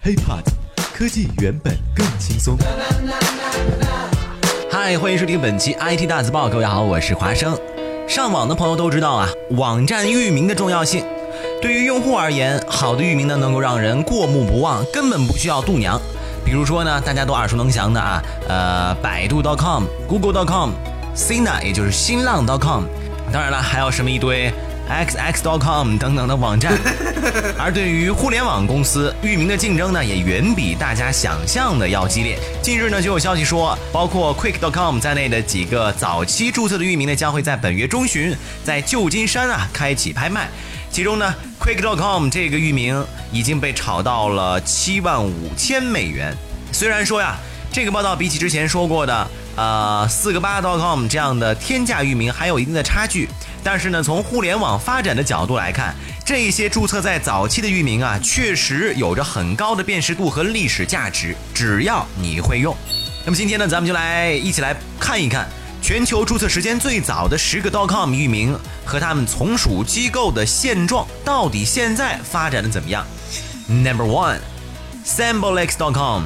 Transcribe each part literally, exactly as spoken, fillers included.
HeyPod， 科技原本更轻松。 嗨，欢迎收听本期 I T 大字报，各位好，我是华生。上网的朋友都知道啊，网站域名的重要性。对于用户而言，好的域名呢，能够让人过目不忘，根本不需要度娘。比如说呢，大家都耳熟能详的啊，呃，百度 .com、Google .com、Sina 也就是新浪 .com， 当然了，还有什么一堆X X .com 等等的网站。而对于互联网公司域名的竞争呢，也远比大家想象的要激烈。近日呢，就有消息说，包括 Quick .com 在内的几个早期注册的域名呢，将会在本月中旬在旧金山啊开启拍卖。其中呢 Quick .com 这个域名已经被炒到了七万五千美元。虽然说呀，这个报道比起之前说过的呃四个八 .com 这样的天价域名还有一定的差距，但是呢，从互联网发展的角度来看，这些注册在早期的域名啊，确实有着很高的辨识度和历史价值，只要你会用。那么今天呢，咱们就来一起来看一看全球注册时间最早的十个 .com 域名和他们从属机构的现状，到底现在发展的怎么样。 Number one Symbolics .com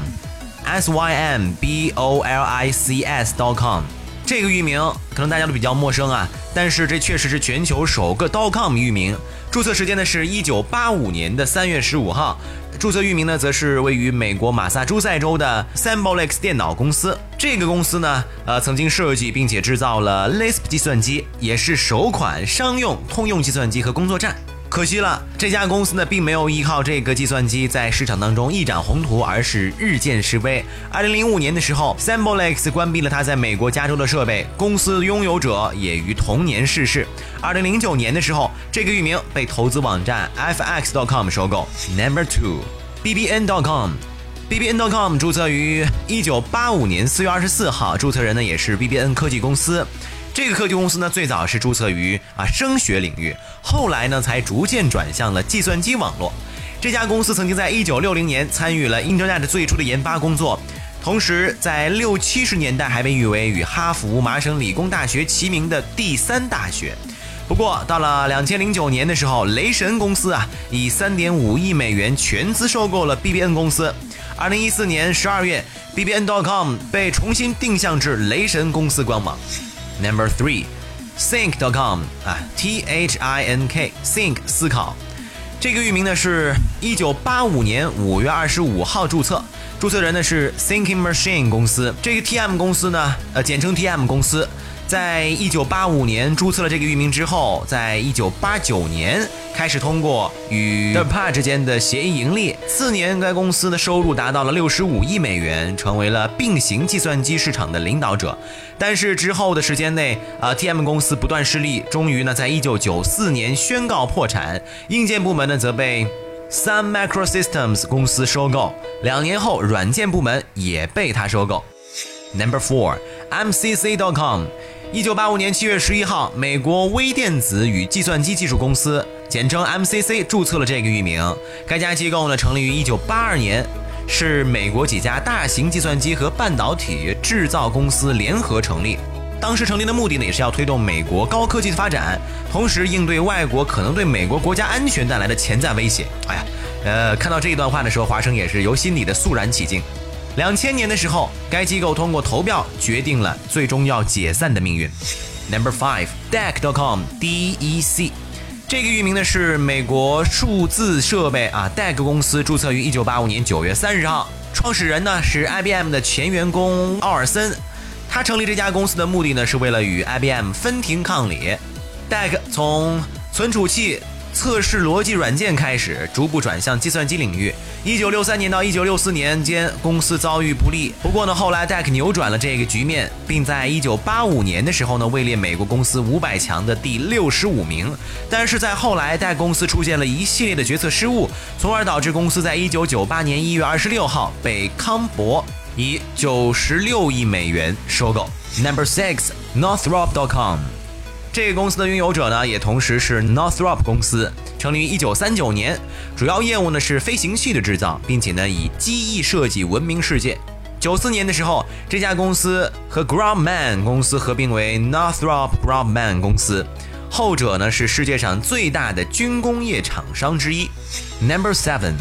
S Y M B O L I C S .com 这个域名可能大家都比较陌生啊，但是这确实是全球首个 .com 域名，注册时间呢是一九八五年的三月十五号，注册域名呢则是位于美国马萨诸塞州的 Symbolics 电脑公司。这个公司呢，呃，曾经设计并且制造了 Lisp 计算机，也是首款商用通用计算机和工作站。可惜了，这家公司呢并没有依靠这个计算机在市场当中一展宏图，而是日渐式微。二零零五年的时候 Symbolics 关闭了它在美国加州的设备，公司拥有者也于同年逝世。二零零九年的时候，这个域名被投资网站 F X .com 收购。 Number two B B N .com B B N .com 注册于一九八五年四月二十四号，注册人呢也是 B B N 科技公司。这个科技公司呢，最早是注册于啊声学领域，后来呢才逐渐转向了计算机网络。这家公司曾经在一九六零年参与了 Internet 最初的研发工作，同时在六七十年代还被誉为与哈佛、麻省理工大学齐名的第三大学。不过到了两千零九年的时候，雷神公司啊以 三点五亿美元全资收购了 B B N 公司。二零一四年十二月 B B N .com 被重新定向至雷神公司官网。Number three Think .com 啊 T H I N K Think 思考，这个域名呢是一九八五年五月二十五号注册，注册人呢是 Thinking Machine 公司。这个 T M 公司呢，呃，简称 T M 公司，在一九八五年注册了这个域名之后，在一九八九年开始通过与 D A R P A 之间的协议盈利。次年，该公司的收入达到了六十五亿美元，成为了并行计算机市场的领导者。但是之后的时间内，呃 T M 公司不断失利，终于呢，在一九九四年宣告破产。硬件部门呢，则被 Sun Microsystems 公司收购。两年后，软件部门也被它收购。Number four M C C .com一九八五年七月十一号，美国微电子与计算机技术公司，简称 M C C 注册了这个域名。该家机构呢成立于一九八二年，是美国几家大型计算机和半导体制造公司联合成立。当时成立的目的呢，也是要推动美国高科技的发展，同时应对外国可能对美国国家安全带来的潜在威胁。哎呀，呃，看到这一段话的时候，华生也是由心里的肃然起敬。两千年的时候，该机构通过投票决定了最终要解散的命运。Number five D E C .com D E C 这个域名呢是美国数字设备啊 D E C 公司，注册于一九八五年九月三十号，创始人呢是 I B M 的前员工奥尔森。他成立这家公司的目的呢是为了与 I B M 分庭抗礼。D E C 从存储器测试逻辑软件开始，逐步转向计算机领域。一九六三年到一九六四年间，公司遭遇不利。不过呢，后来 D E C 扭转了这个局面，并在一九八五年的时候呢，位列美国公司五百强的第六十五名。但是在后来 ，D E C 公司出现了一系列的决策失误，从而导致公司在一九九八年一月二十六号被康柏以九十六亿美元收购。Number six Northrop .com这个公司的拥有者呢，也同时是 Northrop 公司，成立于一九三九年，主要业务呢是飞行器的制造，并且呢以机翼设计闻名世界。九四年的时候，这家公司和 Grumman 公司合并为 Northrop Grumman 公司，后者呢是世界上最大的军工业厂商之一。Number seven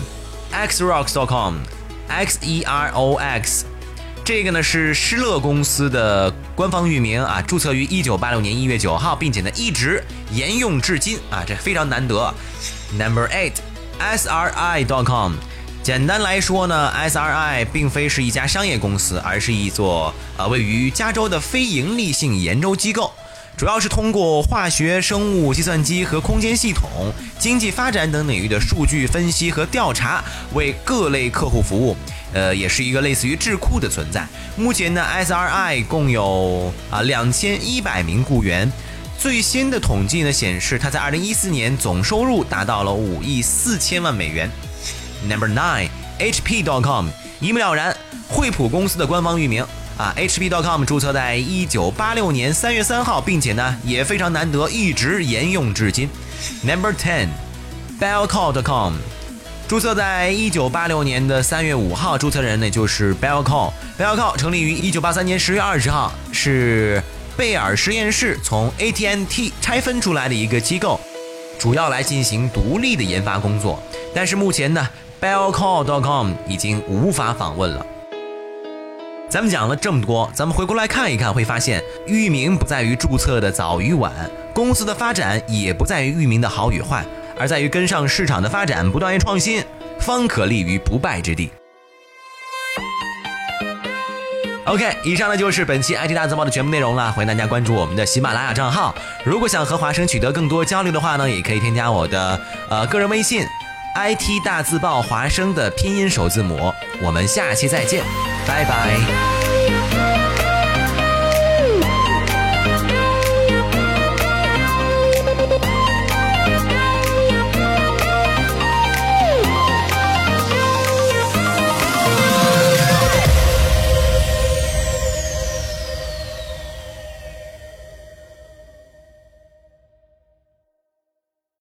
xerox dot com，x e r o x， 这个呢是施乐公司的官方域名啊，注册于一九八六年一月九号，并且呢一直沿用至今啊，这非常难得。Number eight S R I dot com， 简单来说呢 ，S R I 并非是一家商业公司，而是一座呃位于加州的非盈利性研究机构。主要是通过化学、生物、计算机和空间系统、经济发展等领域的数据分析和调查，为各类客户服务。呃，也是一个类似于智库的存在。目前呢 ，S R I 共有啊两千一百名雇员。最新的统计呢显示，它在二零一四年总收入达到了五亿四千万美元。Number nine H P dot com， 一目了然，惠普公司的官方域名。啊 ，H P dot com 注册在一九八六年三月三号，并且呢也非常难得，一直沿用至今。Number ten Bellcall dot com， 注册在一九八六年的三月五号，注册人呢就是 Bellcall。Bellcall 成立于一九八三年十月二十号，是贝尔实验室从 A T and T 拆分出来的一个机构，主要来进行独立的研发工作。但是目前呢 Bellcall dot com 已经无法访问了。咱们讲了这么多，咱们回过来看一看，会发现域名不在于注册的早与晚，公司的发展也不在于域名的好与坏，而在于跟上市场的发展，不断于创新，方可立于不败之地。OK， 以上呢就是本期 I T 大字报的全部内容了，欢迎大家关注我们的喜马拉雅账号。如果想和华生取得更多交流的话呢，也可以添加我的呃个人微信 I T 大字报华生的拼音首字母。我们下期再见，拜拜。